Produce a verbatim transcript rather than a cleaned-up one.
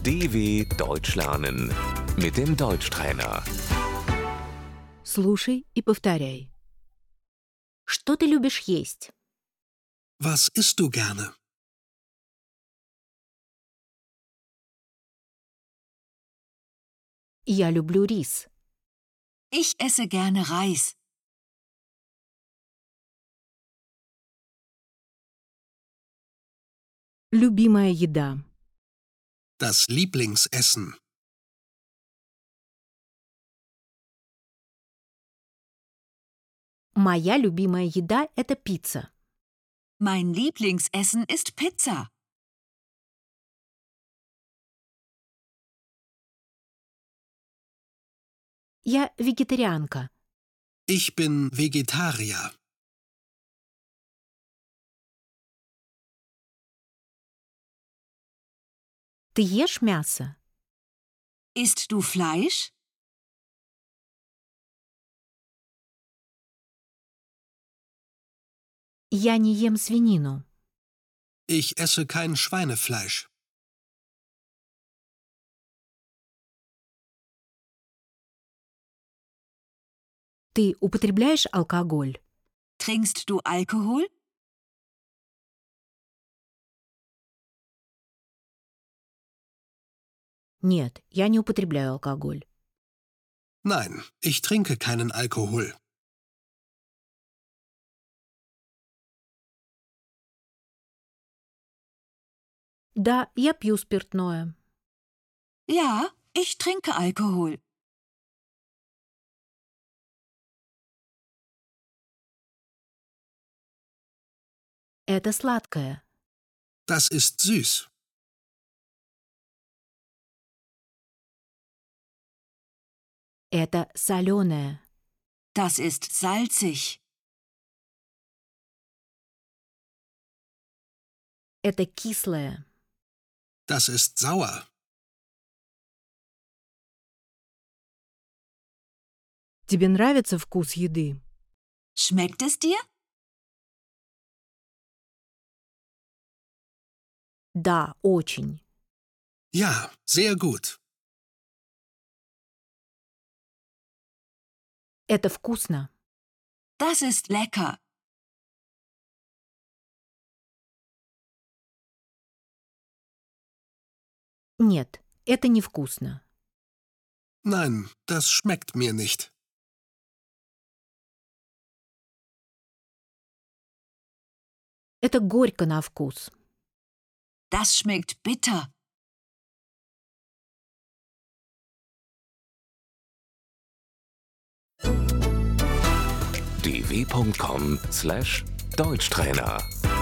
D W Deutsch lernen mit dem Deutschtrainer. Слушай и повторяй. Что ты любишь есть? Was isst du gerne? Я люблю рис. Ich esse gerne Reis. Любимая еда. Das Lieblingsessen. Моя любимая еда – это пицца. Mein Lieblingsessen ist Pizza. Я вегетарианка. Ich bin Vegetarier. Ты ешь мясо? Isst du Fleisch? Я не ем свинину. Ich esse kein Schweinefleisch. Ты употребляешь алкоголь? Trinkst du Alkohol? Нет, я не употребляю алкоголь. Nein, ich trinke keinen Alkohol. Да, я пью спиртное. Ja, ich trinke Alkohol. Это сладкое. Das ist süß. Это соленое. Das ist salzig. Это кислое. Das ist sauer. Тебе нравится вкус еды? Schmeckt es dir? Да, очень. Ja, sehr gut. Это вкусно. Das ist lecker. Нет, это невкусно. Nein, das schmeckt mir nicht. Это горько на вкус. Das schmeckt bitter. d w punkt com slash Deutschtrainer